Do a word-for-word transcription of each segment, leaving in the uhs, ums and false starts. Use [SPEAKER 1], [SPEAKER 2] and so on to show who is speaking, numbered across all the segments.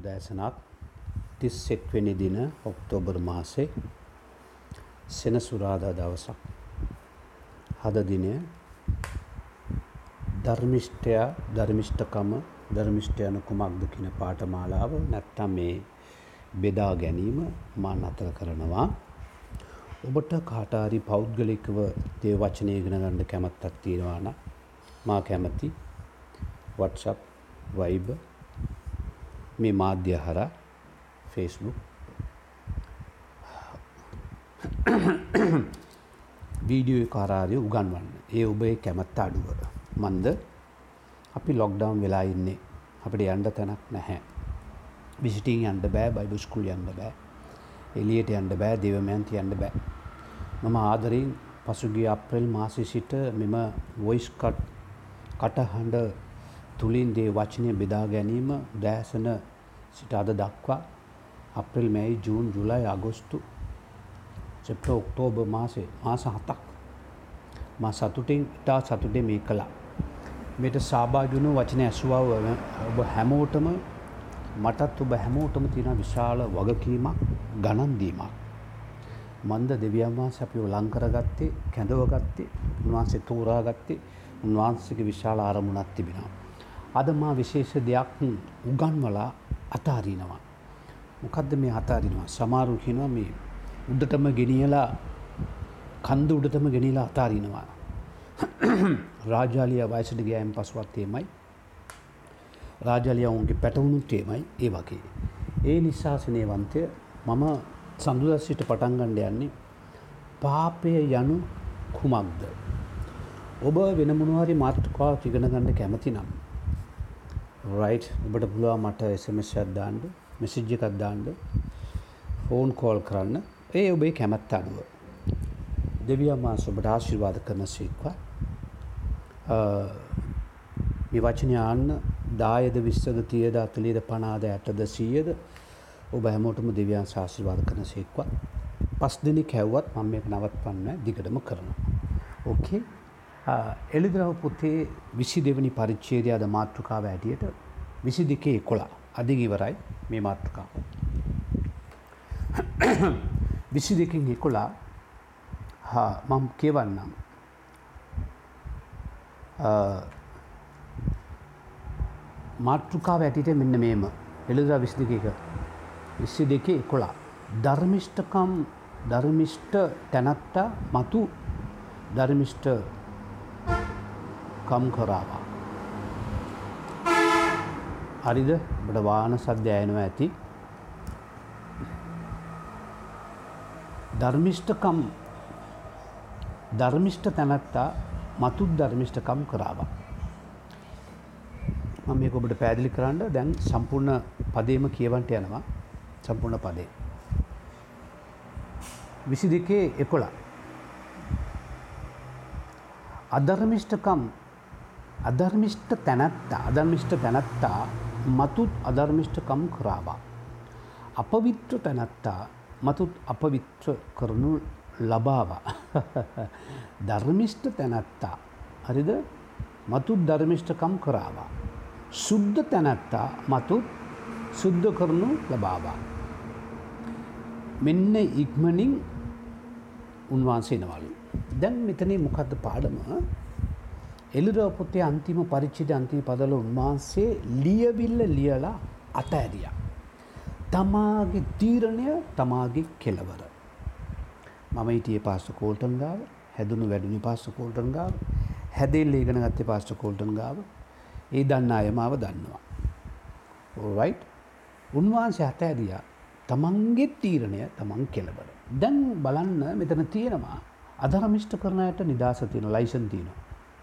[SPEAKER 1] උදෑසනක් තිස් එක් වෙනි දින ඔක්තෝබර් මාසේ සෙනසුරාදා දවසක්. අද දිනය ධර්මිෂ්ඨයා ධර්මිෂ්ඨකම ධර්මිෂ්ඨයන කුමක්ද කියන පාඨමාලාව නැත්තම් මේ බෙදා ගැනීම මා නතර කරනවා. ඔබට කාට හරි පෞද්ගලිකව දේව වචනය ඉගෙන ගන්න කැමැත්තක් තියෙනවා නම් මා කැමැති WhatsApp, Viber මේ මාධ්‍ය හරහා Facebook වීඩියෝ එක හරහා උගන්වන්න. ඒ ඔබේ කැමැත්ත අඩුව. මන්ද අපි ලොක්ඩවුන් වෙලා ඉන්නේ. අපිට යන්න තැනක් නැහැ. විසිටින් යන්න බෑ, බයිබල් ස්කූල් යන්න බෑ. එළියට යන්න බෑ, දේවමයන්ති යන්න බෑ. මම ආදරෙන් පසුගිය අප්‍රේල් මාසයේ සිට මෙම වොයිස් කට් කටහඬ තුලින් දේ වචනය බෙදා ගැනීම උදෑසන සිට අද දක්වා අප්‍රේල්, මැයි, ජූන්, ජූලයි, අගෝස්තු, සෙප්තැම්බර්, ඔක්තෝබර් මාසේ මාස හතක් මා සතුටින් ඉතා සතුටින් මේ කළා. මේට සහභාගී වුණු වචන ඇසුවා ඔබ හැමෝටම මටත් ඔබ හැමෝටම තියෙන විශාල වගකීමක්, ගණන් දීමක්. මන්ද දෙවියන් වහන්සේ අපිව ලං කරගත්තේ, කැඳවගත්තේ, උන්වහන්සේ තෝරාගත්තේ උන්වහන්සේගේ විශාල ආරමුණක් තිබෙනවා. අද මා විශේෂ දෙයක් උගන්වලා අතාරිනවා. මොකද්ද මේ අතාරිනවා? සමහරු කියනවා මේ උඩටම ගෙනියලා කන්ද උඩටම ගෙනියලා අතාරිනවා. රාජාලියා වයසට ගියායින් පසුවත් එමයයි. රාජාලියා උන්ගේ පැටවුණුත් එමයයි. ඒ වගේ. ඒ නිසා ස්නේහවන්තය මම සඳුදා සිට පටන් ගන්න යන්නේ පාපය යනු කුමක්ද? ඔබ වෙන මොනවා හරි මාතෘකාවක් ඉගෙන ගන්න කැමති නම් right ඔබට පුළුවන් මට S M S එකක් දාන්න, message එකක් දාන්න, phone call කරන්න. ඒ ඔබේ කැමැත්ත අනුව දෙවියන් වහන්සේ ඔබට ආශිර්වාද කරන සීක්වා. මේ වචනේ ආන්න දායද විස්සද තියද අතලියද පනහද ඇටද සීයද ඔබ හැමෝටම දෙවියන් ආශිර්වාද කරන සීක්වා. පස් දිනක් හැවුවත් මම මේක නවත්වන්නේ දිගටම කරනවා. ඕකේ. එළිදරව් පොතේ විසි දෙවෙනි පරිච්ඡේදය අද මාතෘකාව ඇටියට විසි දෙකේ එකොළහ අද ඉවරයි මේ මාතෘකාව. විසි දෙකෙන් එකොළහ හා මම කියවන්නම්. මාතෘකාව ඇටියට මෙන්න මේම එළිදරව් විසි දෙකේ විසි දෙකේ එකොළහ ධර්මිෂ්ඨකම් ධර්මිෂ්ඨ තැනැත්තා මතු ධර්මිෂ්ඨ කම් කරාවා. හරිද? ඔබට වාහන සද්ද ඇහෙනවා ඇති. ධර්මිෂ්ඨකම් ධර්මිෂ්ඨ තැනැත්තා මතු ධර්මිෂ්ඨකම් කරාවා. මම මේක ඔබට පැහැදිලි කරන්න දැන් සම්පූර්ණ පදේම කියවන්න යනවා. සම්පූර්ණ පදේ විසි දෙකේ එකොළහ අධර්මිෂ්ඨකම් අධර්මිෂ්ඨ තැනැත්තා අධර්මිෂ්ඨ තැනැත්තා මතුත් අධර්මිෂ්ඨකම් කරාවා. අපවිත්‍ර තැනැත්තා මතුත් අපවිත්‍ර කරනු ලබාවා. ධර්මිෂ්ඨ තැනැත්තා හරිද? මතුත් ධර්මිෂ්ඨකම් කරාවා. සුද්ධ තැනැත්තා මතුත් සුද්ධ කරනු ලබාවා. මෙන්න ඉක්මනින් උන්වහන්සේ එනවලු. දැන් මෙතනේ මොකද්ද පාඩම? එළිදරව් පොතේ අන්තිම පරිච්ඡේදයේ අන්තිම පදවල උන්වහන්සේ ලියවිල්ල ලියලා අතෑරියා. තමාගේ තීරණය, තමාගේ කෙලවර. මම හිටියේ පාස්ටර් කෝල්ටන් ගාව, හැදුණු වැඩුණු පාස්ටර් කෝල්ටන් ගාව, හැදෙල්ල ඉගෙන ගත්තේ පාස්ටර් කෝල්ටන් ගාව. ඒ දන්න අය මාව දන්නවා. alright. උන්වහන්සේ අතෑරියා තමන්ගේ තීරණය, තමන් කෙලවර. දැන් බලන්න මෙතන තියෙනවා අධර්මිෂ්ඨ කරන අයට නිදාස තියෙනවා, ලයිසන් තියෙනවා.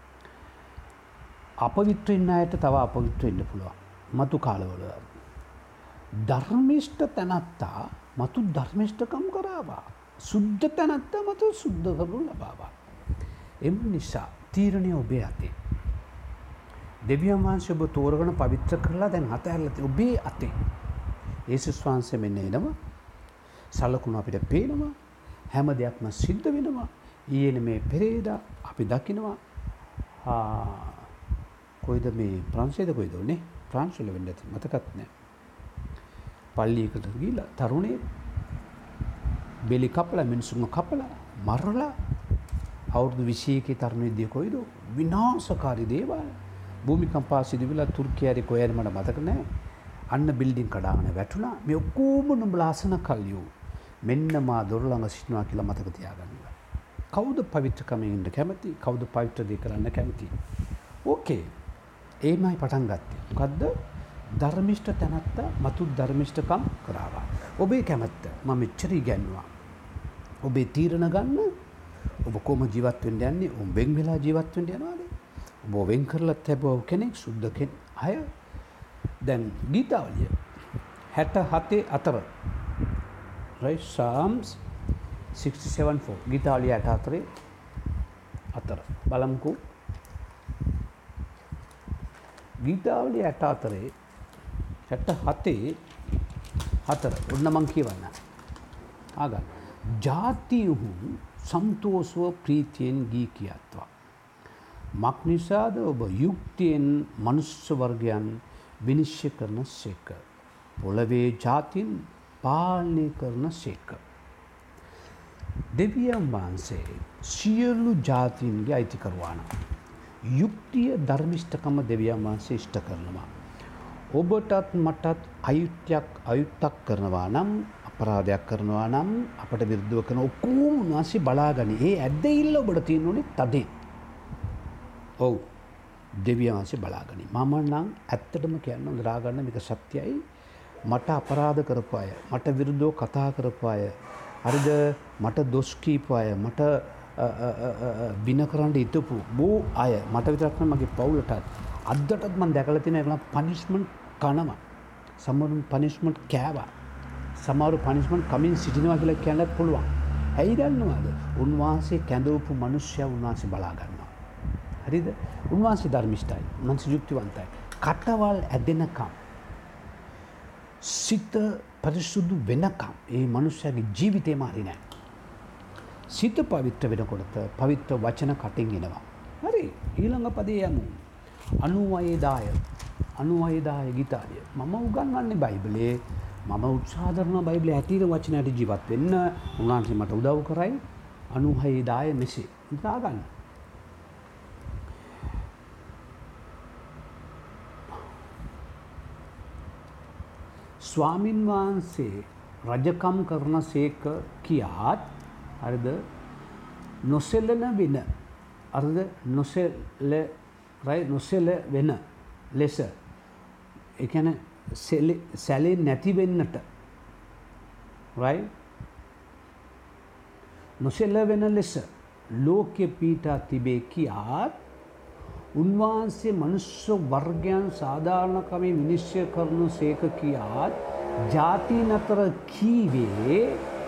[SPEAKER 1] අපවිත්‍ර ඉන්න අයට තව අපවිත්‍ර ඉන්න පුළුවන්. මතු කාලවල. ධර්මිෂ්ඨ තැනැත්තා මතු ධර්මිෂ්ඨකම් කරාවා. සුද්ධ තැනැත්තා මතු සුද්ධ කරනු ලබාවා. එම නිසා තීරණය ඔබේ අතේ. දෙවියන් වහන්සේ ඔබ තෝරගෙන පවිත්‍ර කරලා දැන් අතහැරලා තියෙන ඔබේ අතේ. යේසුස් වහන්සේ මෙන්න එනවා. සලකුණු අපිට පේනවා. හැම දෙයක්ම සිද්ධ වෙනවා. ඊයේ මේ පෙරේදා අපි දකිනවා කොයිද මේ ප්‍රංශයේද කොයිද උනේ? ප්‍රංශ වල වෙන්න ඇති මතකත් නැහැ. පල්ලියකට ගිහිල්ලා තරුණේ බෙලි කපලා මිනිස්සුන්ව කපලා මරලා අවුරුදු විසියකේ තරුණෙක්දී කොයිද විනාශකාරී දේවල් භූමිකම්පා සිදු වෙලා තුර්කියාවේ කොහෙද මට මතක නැහැ අන්න බිල්ඩින් කඩාගෙන වැටුණා මේ ඔක්කොම නුඹලා අසන කල්යෝ මෙන්න මා දොර ළඟ සිටිනවා කියලා මතක තියාගන්න. කවුද පවිත්‍රකමෙන් ඉන්න කැමති? කවුද පවිත්‍ර දේ කරන්න කැමති? ඕකේ. ඒමයි පටන් ගත්තේ. මොකද්ද? ධර්මිෂ්ඨ තැනත්ත මතු ධර්මිෂ්ඨකම් කරාවා. ඔබේ කැමැත්ත මම මෙච්චර ඉගැන්නුවා. ඔබේ තීරණ ගන්න ඔබ කොහොම ජීවත් වෙන්න යන්නේ? ඔබ වෙන් වෙලා ජීවත් වෙන්න යනවාද? ඔබ වෙන් කරලා තිබව කෙනෙක් සුද්ධ කෙනෙක් අය දැන් ගීතාවලිය හැට හතේ අතර right Psalms sixty-seven four ගීතාවලිය හැට හතරේ අතර බලමුකෝ ගීතාවලිය හැට හතරේ හැට හතේ හතර ඔන්න මං කියවන්න ආගන්න ජාතියුහු සන්තෝෂව ප්‍රීතියෙන් ගී කියත්වා මක් නිසාද ඔබ යුක්තියෙන් මනුෂ්‍ය වර්ගයන් විනිශ්චය කරන සේක පොළවේ ජාතින් පාලනය කරන සේක දෙවියන් වහන්සේ සියලු ජාතීන්ගේ අයිතිකරුවාන යුක්තිය ධර්මිෂ්ඨකම දෙවියන් වහන්සේ ඉෂ්ට කරනවා ඔබටත් මටත් අයුක්තියක් අයුක්තක් කරනවා නම් අපරාධයක් කරනවා නම් අපට විරුද්ධව කරන ඔක්කොම උන්වහන්සේ බලාගනි ඒ ඇද්දෙයිල්ල ඔබට තියෙන්න ඕනේ තදේ ඔව් දෙවියන් වහන්සේ බලාගනි මම නම් ඇත්තටම කියන්න දරා ගන්න මේක සත්‍යයි මට අපරාධ කරපු අය මට විරුද්ධව කතා කරපු අය හරිද මට දොස් කීපු අය මට වින කරන්න හිටපු බෝ අය මට විතරක් නෙවෙයි මගේ පවුලටත් අද්දටත් මම දැකලා තියෙන ඒගොල්ලන් පනිෂ්මන්ට් කනවා සමහරුන් පනිෂ්මන්ට් කෑවා සමහරු පනිෂ්මන්ට් කමින් සිටිනවා කියලා කියන්නත් පුළුවන් ඇයි දන්නවද උන්වහන්සේ කැඳවපු මිනිස්සයා උන්වහන්සේ බලා ගන්නවා හරිද උන්වහන්සේ ධර්මිෂ්ඨයි උන්වහන්සේ යුක්තිවන්තයි කටවල් ඇදෙනකම් සිත පරිසුදු වෙනකම් ඒ මනුස්සයාගේ ජීවිතේම හරි නෑ සිත පවිත්‍ර වෙනකොට පවිත්‍ර වචන කටින් එනවා හරි ඊළඟ පදේ යමු අනූවයේ දාය අනූවයේ දාය ගීතාලිය මම උගන්වන්නේ බයිබලයේ මම උත්සාහ කරනවා බයිබලයේ ඇටිර වචනයට ජීවත් වෙන්න උන්වහන්සේ මට උදව් කරයි අනූවයේ දාය මෙසේ හිතා ගන්න ස්වාමින් වහන්සේ රජකම් කරන සේක කියාත් හරිද නොසෙලන වෙන හරිද නොසෙල රයි නොසෙල වෙන ලෙස ඒ කියන්නේ සැලේ නැති වෙන්නට රයි නොසෙල වෙන ලෙස ලෝකෙ පීඨා තිබේ කියාත් උන්වහන්සේ මනුෂ්‍ය වර්ගයන් සාධාරණකමේ විනිශ්චය කරන සේක කියාත් ජාතීන් අතර කීවේ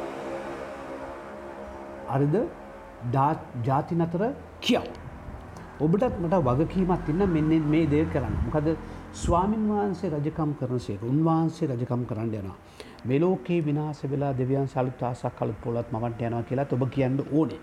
[SPEAKER 1] හරිද ජාතීන් අතර කියව ඔබටත් මට වගකීමක් තියෙන මෙන්න මේ දේ කරන්න මොකද ස්වාමින් වහන්සේ රජකම් කරන සේක උන්වහන්සේ රජකම් කරන්න යනවා මේ ලෝකේ විනාශ වෙලා දෙවියන් සලුත් ආසක් කලුත් පොළත් මවන්ට යනවා කියලාත් ඔබ කියන්න ඕනේ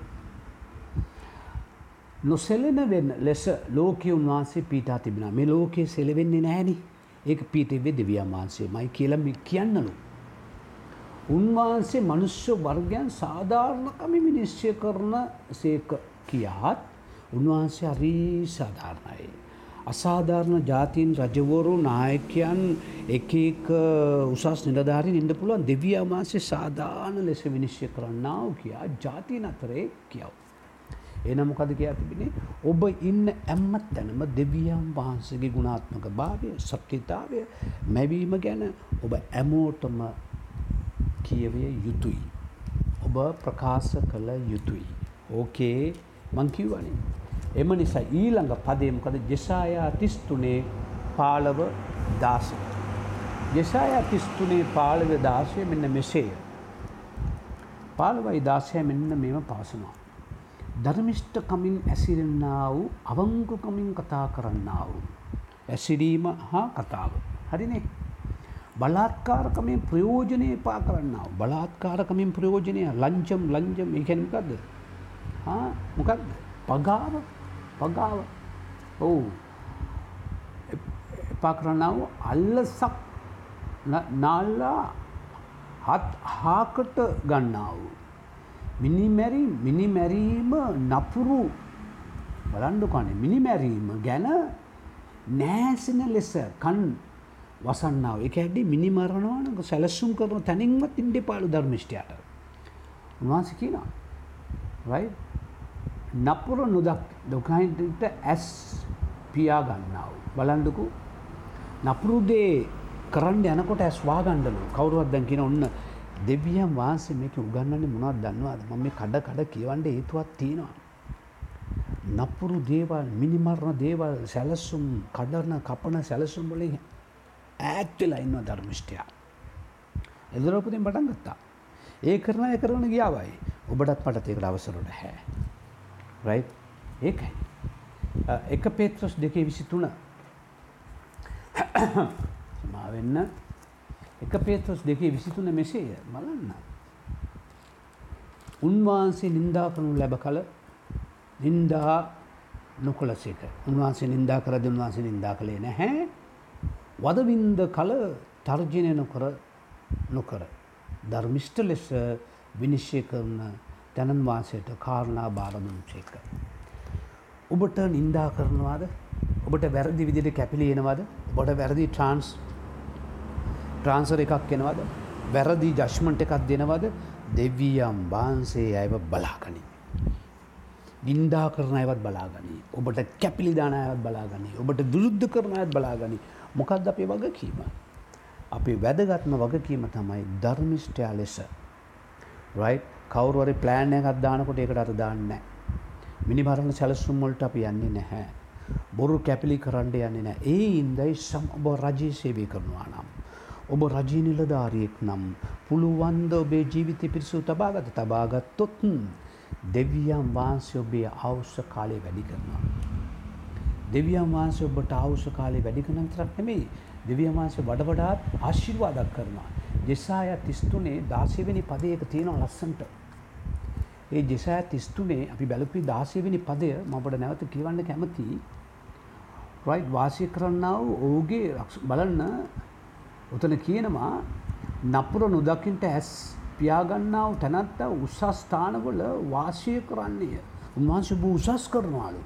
[SPEAKER 1] නොසෙලෙන වෙන ලෙස ලෝකයේ උන්වහන්සේ පීඨා තිබෙනවා මේ ලෝකයේ සෙලවෙන්නේ නැහෙනි ඒක පීඨෙවේ දෙවියන් වහන්සේමයි කියලා මේ කියන්නලු උන්වහන්සේ මනුෂ්‍ය වර්ගයන් සාධාරණකම විනිශ්චය කරන සේක කියාත් උන්වහන්සේ හරි සාධාරණයි අසාධාරණ ජාතීන් රජවරු නායකයන් එක එක උසස් නිලධාරීන් ඉන්න පුළුවන් දෙවියන් වහන්සේ සාධාරණ ලෙස විනිශ්චය කරන්නා වූ කියා ජාතීන් අතරේ කියව එන මොකද කියලා තිබෙන්නේ ඔබ ඉන්න හැම තැනම දෙවියන් වහන්සේගේ ගුණාත්මක භාවය සත්‍යතාවය මැවීම ගැන ඔබ හැමෝටම කියවිය යුතුයි ඔබ ප්‍රකාශ කළ යුතුයි ඕකේ මං කියවනේ එම නිසා ඊළඟ පදේ මොකද ජෙසායා තිස් තුනේ පහළව දාසය ජෙසායා තිස් තුනේ පහළව දාසය මෙන්න මෙසේය පහළවයි දාසය මෙන්න මේව පවසනවා ධර්මිෂ්ඨකමින් ඇසිරෙන්නා වූ අවංකකමින් කතා කරන්නා වූ ඇසිරීම හා කතාව හරිනේ බලාත්කාරකමින් ප්‍රයෝජනේ පා කරන්නා වූ බලාත්කාරකමින් ප්‍රයෝජනය ලංජම් ලංජම් ඒ කියන්නේ මොකද්ද හා මොකද්ද පගාව පගාව ඔව් එපා කරන්නා වූ අල්ලසක් නාල්ලා හත් හාකට ගන්නා වූ මිනිමැරි මිනිමැරීම නපුරු බලන්න කනේ මිනිමැරීම ගැන නෑසෙන ලෙස කන් වසන්නා වූ. ඒක හැදී මිනි මරනවා නම් සැලසුම් කරන තැනින්වත් ඉන්න එපාලු ධර්මිෂ්ඨයාට. උන්වහන්සේ කියනවා right නපුරු නොදක් දුකයින්ට ඇස් පියා ගන්නා වූ. බලන්නකෝ නපුරු දේ කරන්න යනකොට ඇස් වාගන්නලු. කවුරුවත් දැන් කියන ඔන්න දෙවියන් වහන්සේ මේක උගන්වන්නේ මොනවද දන්නවද? මම මේ කඩ කඩ කියවන්න හේතුවක් තියෙනවා. නපුරු දේවල්, මිනිමරණ දේවල්, සැලසුම්, කඩන, කපන සැලසුම් වලින් ඈත් වෙලා ඉන්න ධර්මිෂ්ඨයා. එදිරෝපදින් පටන් ගත්තා. ඒ කරන ඒ කරන ගියාවයි. ඔබටත් මටත් ඒකට අවසර නැහැ. right? ඒකයි. එක පේත්‍රස් දෙකේ විසිතුන සමා වෙන්න එක පේත්‍රස් දෙකේ විසිතුන මෙසේය බලන්න. උන්වහන්සේ නින්දා කරනු ලැබ කල නින්දා නොකළසේක. උන්වහන්සේ නින්දා කරද්දී උන්වහන්සේ නින්දා කළේ නැහැ. වදවින්ද කල තර්ජනය නොකර නොකර ධර්මිෂ්ඨ ලෙස විනිශ්චය කරන තැනන් වාසයට කාරණා බාර දුන්සේක. ඔබට නින්දා කරනවාද? ඔබට වැරදි විදිහට කැපිලි එනවද? ඔබට වැරදි ට්‍රාන්ස් ට්‍රාන්ස්ෆර් එකක් එනවද? වැරදි ජජ්මන්ට් එකක් දෙනවද? දෙවියන් වහන්සේ අයව බලාගනි. නින්දා කරන අයවත් බලාගනි. ඔබට කැපිලි දාන අයවත් බලාගනි. ඔබට විරුද්ධ කරන අයවත් බලාගනි. මොකක්ද අපේ වගකීම? අපේ වැදගත්ම වගකීම තමයි ධර්මිෂ්ඨයා ලෙස right කවුරු හරි ප්ලෑන් එකක් දානකොට ඒකට අර දාන්නේ නැහැ. මිනිමරණ සැලසුම් වලට අපි යන්නේ නැහැ. බොරු කැපිලි කරන්න යන්නේ නැහැ. ඒ ඉඳයි ඔබ රජයේ සේවය කරනවා නම් ඔබ රජී නිලධාරියෙක් නම් පුළුවන් ද ඔබේ ජීවිතය පිරිසුදු තබාගත තබාගත්තොත් දෙවියන් වහන්සේ ඔබේ ආයුෂ කාලය වැඩි කරනවා. දෙවියන් වහන්සේ ඔබට ආයුෂ කාලය වැඩි කරන විතරක් නෙමෙයි දෙවියන් වහන්සේ වඩ වඩාත් ආශිර්වාදක් කරනවා. ජෙසායා තිස් තුනේ දාසය වෙනි පදයේ එක තියෙනවා ලස්සනට. ඒ ජෙසායා තිස් තුනේ අපි බැලුපි දාසය වෙනි පදය මම ඔබට නැවත කියවන්න කැමතියි. right වාසය කරන්නා වූ ඔහුගේ බලන්න උතන කියනවා නපුර නොදකින්ට ඇස් පියාගන්නා වූ තැනැත්තා උසස් ස්ථානවල වාසය කරන්නේය. උන්වහන්සේ බොහෝ උසස් කරනවාලු.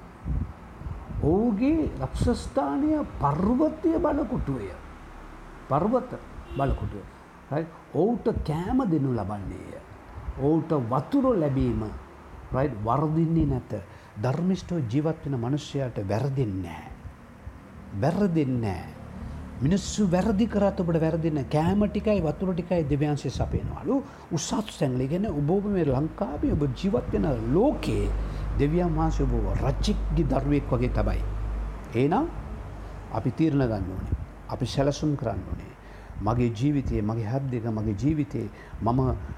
[SPEAKER 1] ඔහුගේ රක්ෂස්ථානය පර්වතය බලකොටුවය. පර්වත බලකොටුව. right ඔහුට කෑම දෙනු ලබන්නේය. ඔහුට වතුර ලැබීම right වර්ධින්නේ නැත. ධර්මිෂ්ඨව ජීවත් වෙන මිනිසයාට වැරදෙන්නේ නැහැ. වැරදෙන්නේ නැහැ. මිනිස්සු වැරදි කරත් ඔබට වැරදෙන්නේ නැහැ. කෑම ටිකයි වතුර ටිකයි දෙවියන්සේ සපයනවලු. උසස් තැන්වල කියන්නේ ඔබ මේ ලංකාවේ ඔබ ජීවත් වෙන ලෝකේ දෙවියන් වහන්සේ ඔබ රජෙක්ගේ දරුවෙක් වගේ තමයි. එහෙනම් අපි තීරණ ගන්න ඕනේ. අපි සැලසුම් කරන්න ඕනේ. මගේ ජීවිතයේ මගේ හත් දෙක මගේ ජීවිතේ මම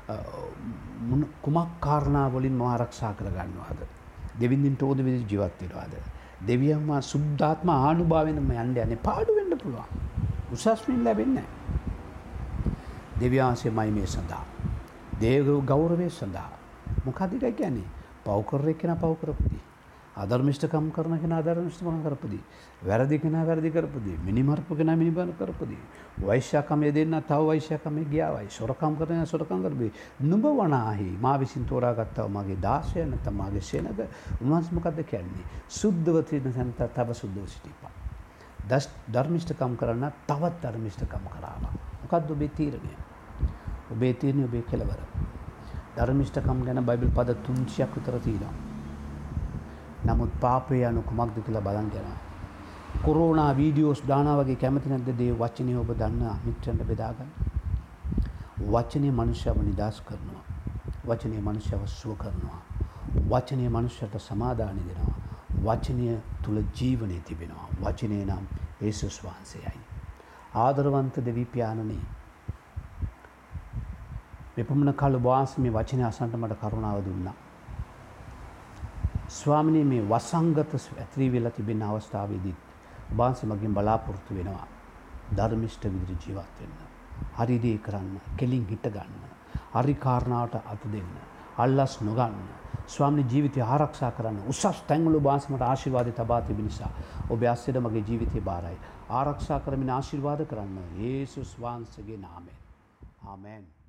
[SPEAKER 1] කුමක් කාරණා වලින් මම ආරක්ෂා කර ගන්නවාද? දෙවිඳින්ට ඕද විදිහට ජීවත් වෙනවාද? දෙවියන් මා සුද්ධාත්ම ආනුභාවයෙන් මම යන්න යන්නේ පාඩු වෙන්න පුළුවන්. උසස් මින් ලැබෙන්නේ නැහැ. දෙවියන්සේමයි මේ සඳහා. දේව ගෞරවයේ සඳහා. මොකද ඒක කියන්නේ? පව් කරේ කෙනා පව් කරපදී. අධර්මිෂ්ඨකම් කරන කෙනා අධර්මිෂ්ඨකම් කරපදී. වැරදි කෙනා වැරදි කරපදී. මිනිමරපු කෙනා මිනිමර කරපදී. වෛශ්‍යකමයේ දෙන්න තව වෛශ්‍යකමයේ ගියාවයි. සොරකම් කරන සොරකම් කරපදී. නුඹ වනාහි මා විසින් තෝරාගත්තා මගේ දාසය නැත්නම් මාගේ සෙනග. උන්වහන්සේ මොකද්ද කියන්නේ? සුද්ධව තියෙන තැනට තව සුද්ධව සිටීපා. දස් ධර්මිෂ්ඨකම් කරන තවත් ධර්මිෂ්ඨකම් කරාවා. මොකද්ද ඔබේ තීරණය? ඔබේ තීරණය ඔබේ කෙලවර. ධර්මිෂ්ඨකම් ගැන බයිබල් පද තුන්සියක් විතර තියෙනවා. නමුත් පාපය යනු කුමක්ද කියලා බලන්න යනවා. කොරෝනා වීඩියෝස් දානවා වගේ කැමති නැද්ද දේ වචනේ ඔබ දන්න මිත්‍රයන්ට බෙදා ගන්න. වචනේ මනුෂ්‍යව නිදාස් කරනවා. වචනේ මනුෂ්‍යව සුව කරනවා. වචනේ මනුෂ්‍යට සමාදානය දෙනවා. වචනය තුල ජීවනයේ තිබෙනවා. වචනේ නම් යේසුස් වහන්සේයි. ආදරවන්ත දෙවි පියාණනි මෙපමණ කාල වාසී මේ වචනේ අසන්නට මට කරුණාව දුන්නා. ස්වාමිනේ මේ වසංගත ඇතිරි වෙලා තිබෙන අවස්ථාවේදී වහන්සේ මගෙන් බලාපොරොත්තු වෙනවා ධර්මිෂ්ඨ විදිහට ජීවත් වෙන්න. හරි දේ කරන්න, කෙලින් හිට ගන්න, හරි කාරණාවට අත දෙන්න, අල්ලස් නොගන්න, ස්වාමීනි ජීවිතය ආරක්ෂා කරන්න. උසස් තැන්වල ඔබ වහන්සේ මට ආශිර්වාද තබා තිබෙන නිසා ඔබ ආශිර්වාද මගේ ජීවිතේ බාරයි. ආරක්ෂා කරමින් ආශිර්වාද කරන්න. යේසුස් වහන්සේගේ නාමයෙන්. ආමෙන්.